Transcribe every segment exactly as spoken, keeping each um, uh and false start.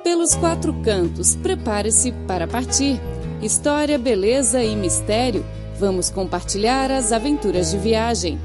Pelos quatro cantos, prepare-se para partir. História, beleza e mistério. Vamos compartilhar as aventuras de viagem.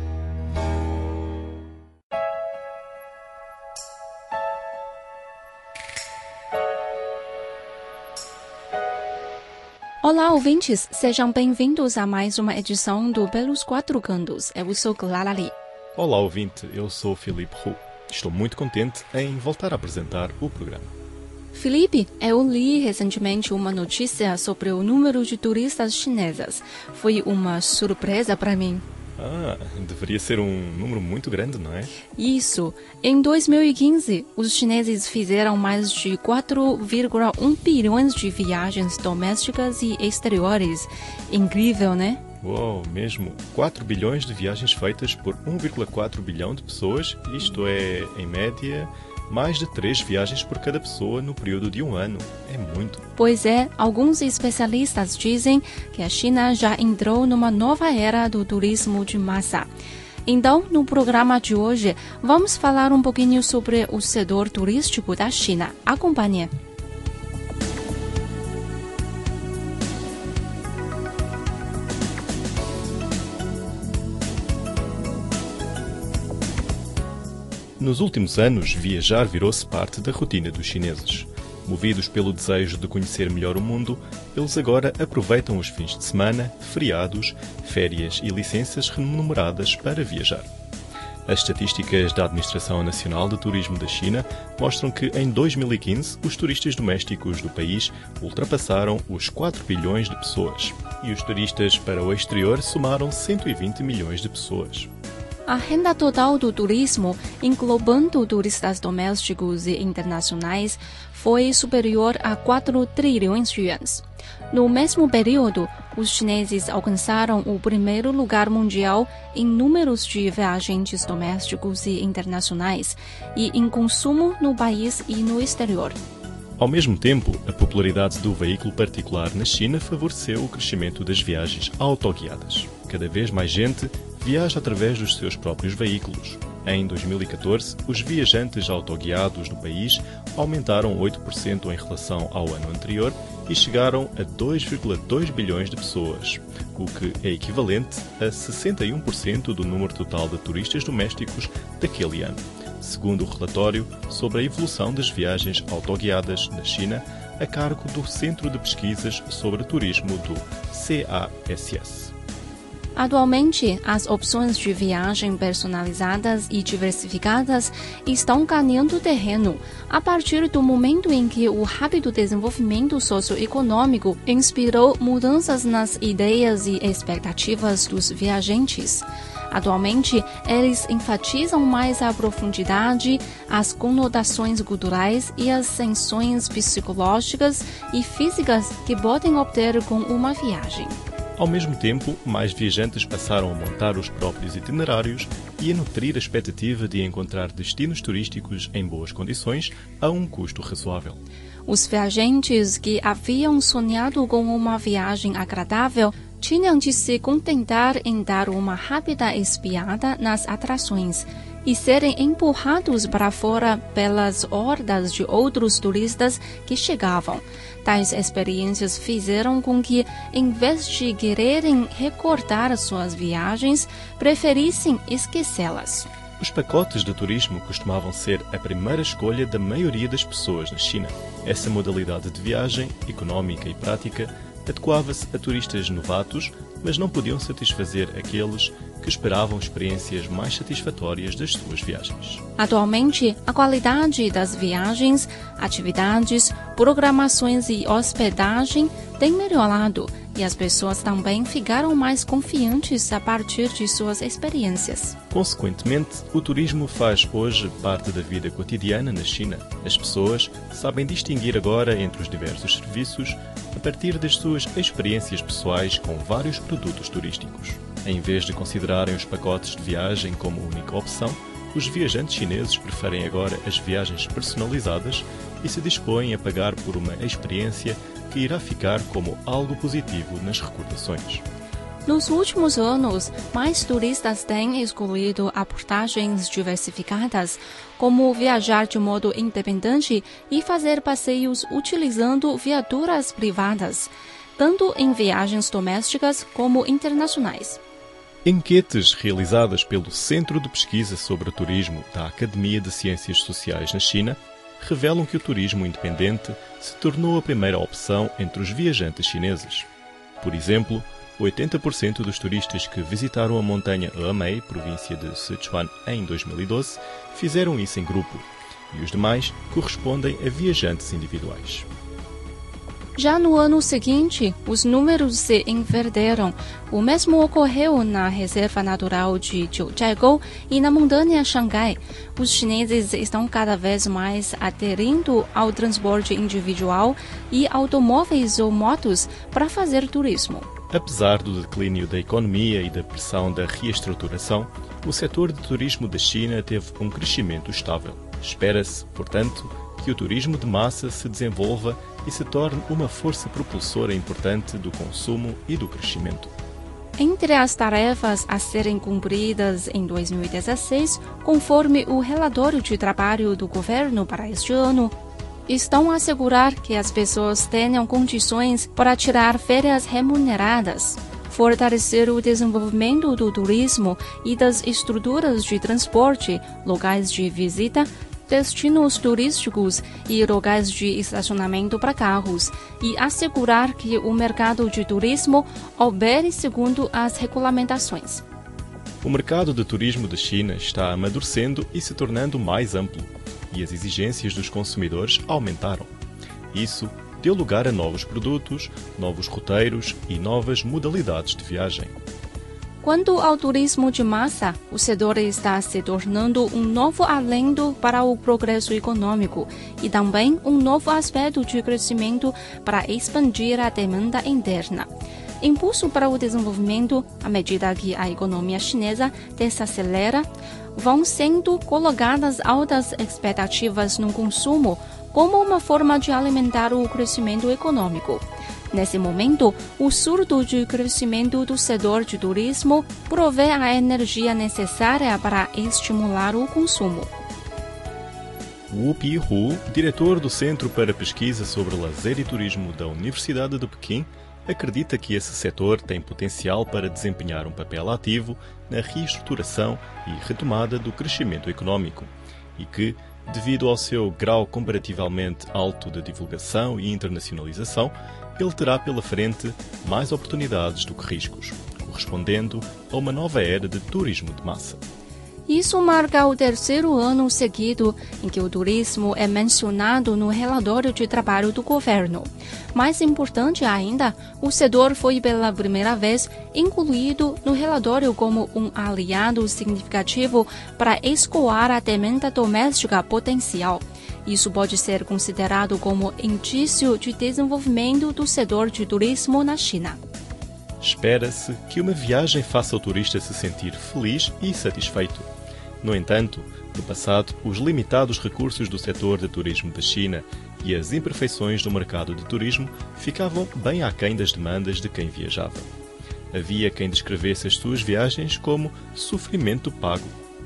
Olá, ouvintes! Sejam bem-vindos a mais uma edição do Pelos Quatro Cantos. Eu sou Clara Lee. Olá, ouvinte! Eu sou Filipe Hu. Estou muito contente em voltar a apresentar o programa. Felipe, eu li recentemente uma notícia sobre o número de turistas chinesas. Foi uma surpresa para mim. Ah, deveria ser um número muito grande, não é? Isso. Em dois mil e quinze, os chineses fizeram mais de quatro vírgula um bilhões de viagens domésticas e exteriores. Incrível, né? Uou, mesmo. quatro bilhões de viagens feitas por um vírgula quatro bilhão de pessoas. Isto é, em média, mais de três viagens por cada pessoa no período de um ano. É muito. Pois é, alguns especialistas dizem que a China já entrou numa nova era do turismo de massa. Então, no programa de hoje, vamos falar um pouquinho sobre o setor turístico da China. Acompanhe. Nos últimos anos, viajar virou-se parte da rotina dos chineses. Movidos pelo desejo de conhecer melhor o mundo, eles agora aproveitam os fins de semana, feriados, férias e licenças remuneradas para viajar. As estatísticas da Administração Nacional de Turismo da China mostram que em dois mil e quinze os turistas domésticos do país ultrapassaram os quatro bilhões de pessoas e os turistas para o exterior somaram cento e vinte milhões de pessoas. A renda total do turismo, englobando turistas domésticos e internacionais, foi superior a quatro trilhões de yuans. No mesmo período, os chineses alcançaram o primeiro lugar mundial em números de viajantes domésticos e internacionais e em consumo no país e no exterior. Ao mesmo tempo, a popularidade do veículo particular na China favoreceu o crescimento das viagens autoguiadas. Cada vez mais gente viaja através dos seus próprios veículos. Em dois mil e catorze, os viajantes autoguiados no país aumentaram oito por cento em relação ao ano anterior e chegaram a dois vírgula dois bilhões de pessoas, o que é equivalente a sessenta e um por cento do número total de turistas domésticos daquele ano, segundo o relatório sobre a evolução das viagens autoguiadas na China, a cargo do Centro de Pesquisas sobre Turismo do C A S S. Atualmente, as opções de viagem personalizadas e diversificadas estão ganhando terreno a partir do momento em que o rápido desenvolvimento socioeconômico inspirou mudanças nas ideias e expectativas dos viajantes. Atualmente, eles enfatizam mais a profundidade, as conotações culturais e as tensões psicológicas e físicas que podem obter com uma viagem. Ao mesmo tempo, mais viajantes passaram a montar os próprios itinerários e a nutrir a expectativa de encontrar destinos turísticos em boas condições a um custo razoável. Os viajantes que haviam sonhado com uma viagem agradável tinham de se contentar em dar uma rápida espiada nas atrações e serem empurrados para fora pelas hordas de outros turistas que chegavam. Tais experiências fizeram com que, em vez de quererem recordar suas viagens, preferissem esquecê-las. Os pacotes de turismo costumavam ser a primeira escolha da maioria das pessoas na China. Essa modalidade de viagem, económica e prática, adequava-se a turistas novatos, mas não podiam satisfazer aqueles que esperavam experiências mais satisfatórias das suas viagens. Atualmente, a qualidade das viagens, atividades, programações e hospedagem tem melhorado e as pessoas também ficaram mais confiantes a partir de suas experiências. Consequentemente, o turismo faz hoje parte da vida cotidiana na China. As pessoas sabem distinguir agora entre os diversos serviços a partir das suas experiências pessoais com vários produtos turísticos. Em vez de considerarem os pacotes de viagem como única opção, os viajantes chineses preferem agora as viagens personalizadas e se dispõem a pagar por uma experiência que irá ficar como algo positivo nas recordações. Nos últimos anos, mais turistas têm escolhido abordagens diversificadas, como viajar de modo independente e fazer passeios utilizando viaturas privadas, tanto em viagens domésticas como internacionais. Enquetes realizadas pelo Centro de Pesquisa sobre Turismo da Academia de Ciências Sociais na China revelam que o turismo independente se tornou a primeira opção entre os viajantes chineses. Por exemplo, oitenta por cento dos turistas que visitaram a montanha Hemei, província de Sichuan, em dois mil e doze, fizeram isso em grupo, e os demais correspondem a viajantes individuais. Já no ano seguinte, os números se inverteram. O mesmo ocorreu na Reserva Natural de Jiuzhaigou e na montanha Xangai. Os chineses estão cada vez mais aderindo ao transporte individual e automóveis ou motos para fazer turismo. Apesar do declínio da economia e da pressão da reestruturação, o setor de turismo da China teve um crescimento estável. Espera-se, portanto, que o turismo de massa se desenvolva e se torne uma força propulsora importante do consumo e do crescimento. Entre as tarefas a serem cumpridas em dois mil e dezesseis, conforme o relatório de trabalho do governo para este ano, estão a assegurar que as pessoas tenham condições para tirar férias remuneradas, fortalecer o desenvolvimento do turismo e das estruturas de transporte, locais de visita, destinos turísticos e locais de estacionamento para carros, e assegurar que o mercado de turismo opere segundo as regulamentações. O mercado de turismo da China está amadurecendo e se tornando mais amplo, e as exigências dos consumidores aumentaram. Isso deu lugar a novos produtos, novos roteiros e novas modalidades de viagem. Quanto ao turismo de massa, o setor está se tornando um novo alento para o progresso econômico e também um novo aspecto de crescimento para expandir a demanda interna. Impulso para o desenvolvimento, à medida que a economia chinesa desacelera, vão sendo colocadas altas expectativas no consumo como uma forma de alimentar o crescimento econômico. Nesse momento, o surto de crescimento do setor de turismo provê a energia necessária para estimular o consumo. Wu Pihu, diretor do Centro para Pesquisa sobre Lazer e Turismo da Universidade de Pequim, acredita que esse setor tem potencial para desempenhar um papel ativo na reestruturação e retomada do crescimento econômico e que, devido ao seu grau comparativamente alto de divulgação e internacionalização, ele terá pela frente mais oportunidades do que riscos, correspondendo a uma nova era de turismo de massa. Isso marca o terceiro ano seguido em que o turismo é mencionado no relatório de trabalho do governo. Mais importante ainda, o setor foi pela primeira vez incluído no relatório como um aliado significativo para escoar a demanda doméstica potencial. Isso pode ser considerado como indício de desenvolvimento do setor de turismo na China. Espera-se que uma viagem faça o turista se sentir feliz e satisfeito. No entanto, no passado, os limitados recursos do setor de turismo da China e as imperfeições do mercado de turismo ficavam bem aquém das demandas de quem viajava. Havia quem descrevesse as suas viagens como sofrimento pago.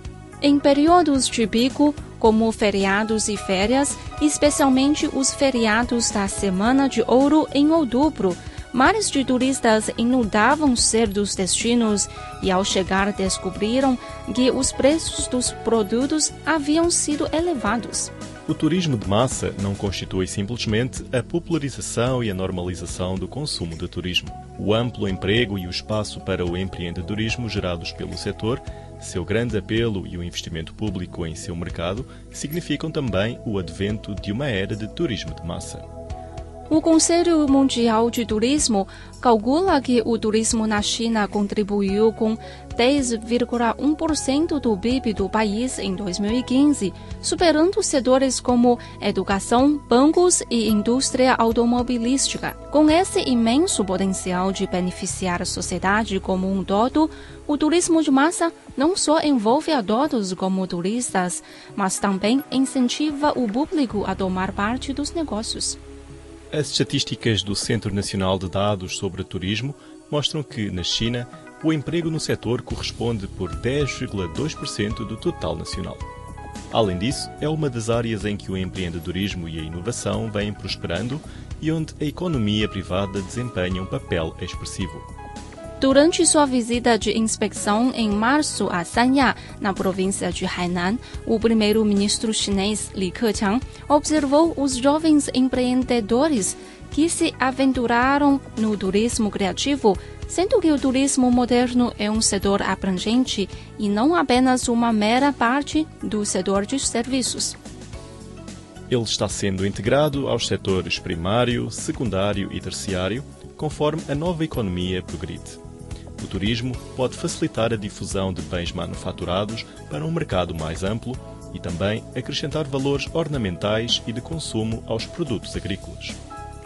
Em períodos de pico, como feriados e férias, especialmente os feriados da Semana de Ouro em outubro, mares de turistas inundavam certos destinos e, ao chegar, descobriram que os preços dos produtos haviam sido elevados. O turismo de massa não constitui simplesmente a popularização e a normalização do consumo de turismo. O amplo emprego e o espaço para o empreendedorismo gerados pelo setor, seu grande apelo e o investimento público em seu mercado significam também o advento de uma era de turismo de massa. O Conselho Mundial de Turismo calcula que o turismo na China contribuiu com dez vírgula um por cento do P I B do país em dois mil e quinze, superando setores como educação, bancos e indústria automobilística. Com esse imenso potencial de beneficiar a sociedade como um todo, o turismo de massa não só envolve a todos como turistas, mas também incentiva o público a tomar parte dos negócios. As estatísticas do Centro Nacional de Dados sobre Turismo mostram que, na China, o emprego no setor corresponde por dez vírgula dois por cento do total nacional. Além disso, é uma das áreas em que o empreendedorismo e a inovação vêm prosperando e onde a economia privada desempenha um papel expressivo. Durante sua visita de inspeção em março a Sanya, na província de Hainan, o primeiro-ministro chinês Li Keqiang observou os jovens empreendedores que se aventuraram no turismo criativo, sendo que o turismo moderno é um setor abrangente e não apenas uma mera parte do setor de serviços. Ele está sendo integrado aos setores primário, secundário e terciário, conforme a nova economia progride. O turismo pode facilitar a difusão de bens manufaturados para um mercado mais amplo e também acrescentar valores ornamentais e de consumo aos produtos agrícolas.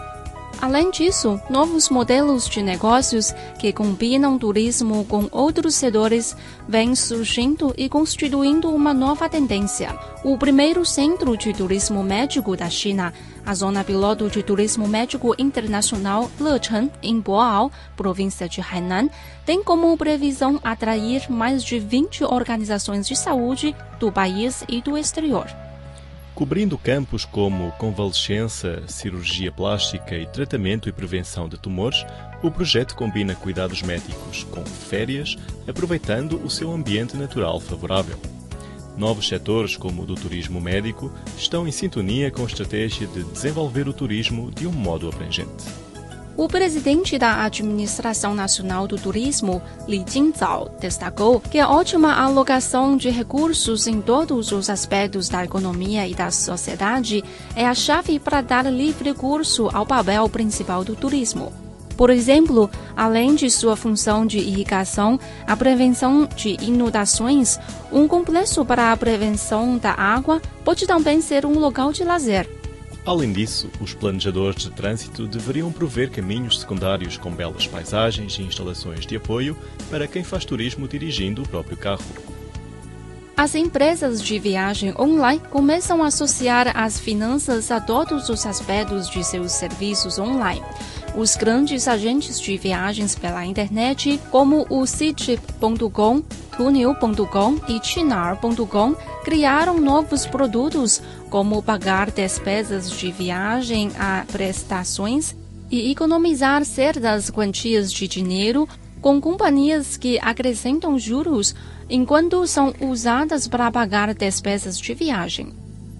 Além disso, novos modelos de negócios que combinam turismo com outros setores vêm surgindo e constituindo uma nova tendência. O primeiro centro de turismo médico da China, a Zona Piloto de Turismo Médico Internacional Lecheng, em Boao, província de Hainan, tem como previsão atrair mais de vinte organizações de saúde do país e do exterior. Cobrindo campos como convalescença, cirurgia plástica e tratamento e prevenção de tumores, o projeto combina cuidados médicos com férias, aproveitando o seu ambiente natural favorável. Novos setores, como o do turismo médico, estão em sintonia com a estratégia de desenvolver o turismo de um modo abrangente. O presidente da Administração Nacional do Turismo, Li Jingzao, destacou que a ótima alocação de recursos em todos os aspectos da economia e da sociedade é a chave para dar livre curso ao papel principal do turismo. Por exemplo, além de sua função de irrigação, a prevenção de inundações, um complexo para a prevenção da água pode também ser um local de lazer. Além disso, os planejadores de trânsito deveriam prover caminhos secundários com belas paisagens e instalações de apoio para quem faz turismo dirigindo o próprio carro. As empresas de viagem online começam a associar as finanças a todos os aspectos de seus serviços online. Os grandes agentes de viagens pela internet, como o Ctrip ponto com, Tuniu ponto com e Qunar ponto com, criaram novos produtos, como pagar despesas de viagem a prestações e economizar certas quantias de dinheiro com companhias que acrescentam juros enquanto são usadas para pagar despesas de viagem.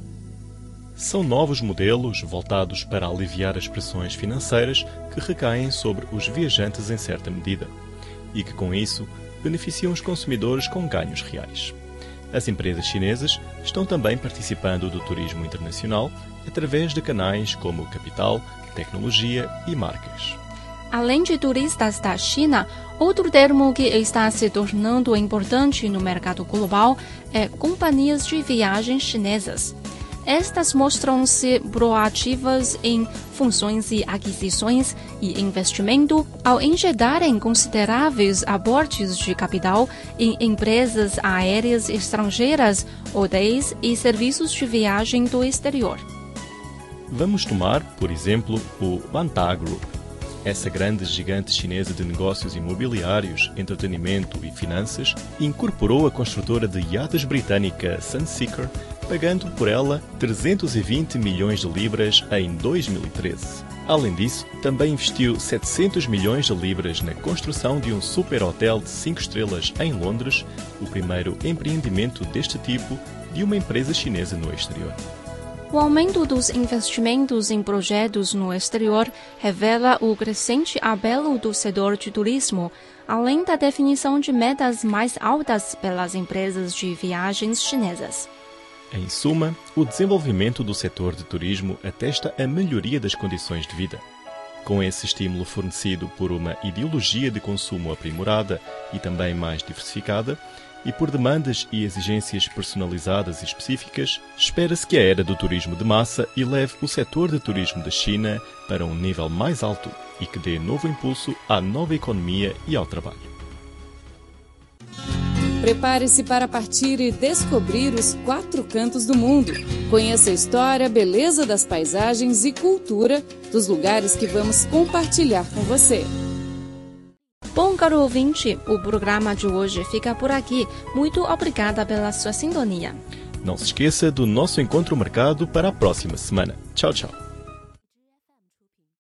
São novos modelos voltados para aliviar as pressões financeiras que recaem sobre os viajantes em certa medida e que, com isso, beneficiam os consumidores com ganhos reais. As empresas chinesas estão também participando do turismo internacional através de canais como capital, tecnologia e marcas. Além de turistas da China, outro termo que está se tornando importante no mercado global é companhias de viagem chinesas. Estas mostram-se proativas em funções e aquisições e investimento ao injetarem consideráveis aportes de capital em empresas aéreas estrangeiras, hotéis e serviços de viagem do exterior. Vamos tomar, por exemplo, o Banta Group. Essa grande gigante chinesa de negócios imobiliários, entretenimento e finanças incorporou a construtora de iates britânica Sunseeker, pagando por ela trezentos e vinte milhões de libras em dois mil e treze. Além disso, também investiu setecentos milhões de libras na construção de um super-hotel de cinco estrelas em Londres, o primeiro empreendimento deste tipo de uma empresa chinesa no exterior. O aumento dos investimentos em projetos no exterior revela o crescente apelo do setor de turismo, além da definição de metas mais altas pelas empresas de viagens chinesas. Em suma, o desenvolvimento do setor de turismo atesta a melhoria das condições de vida. Com esse estímulo fornecido por uma ideologia de consumo aprimorada e também mais diversificada, e por demandas e exigências personalizadas e específicas, espera-se que a era do turismo de massa eleve o setor de turismo da China para um nível mais alto e que dê novo impulso à nova economia e ao trabalho. Prepare-se para partir e descobrir os quatro cantos do mundo. Conheça a história, beleza das paisagens e cultura dos lugares que vamos compartilhar com você. caro ouvinte, o programa de hoje fica por aqui. Muito obrigada pela sua sintonia. Não se esqueça do nosso encontro marcado para a próxima semana. Tchau, tchau.